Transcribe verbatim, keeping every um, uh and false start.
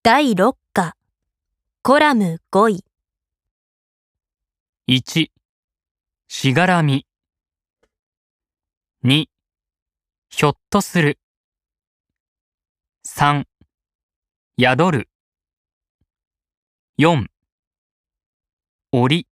だいろっかコラムごい。 いち、しがらみ。に、ひょっとする。さん、宿る。よん、檻。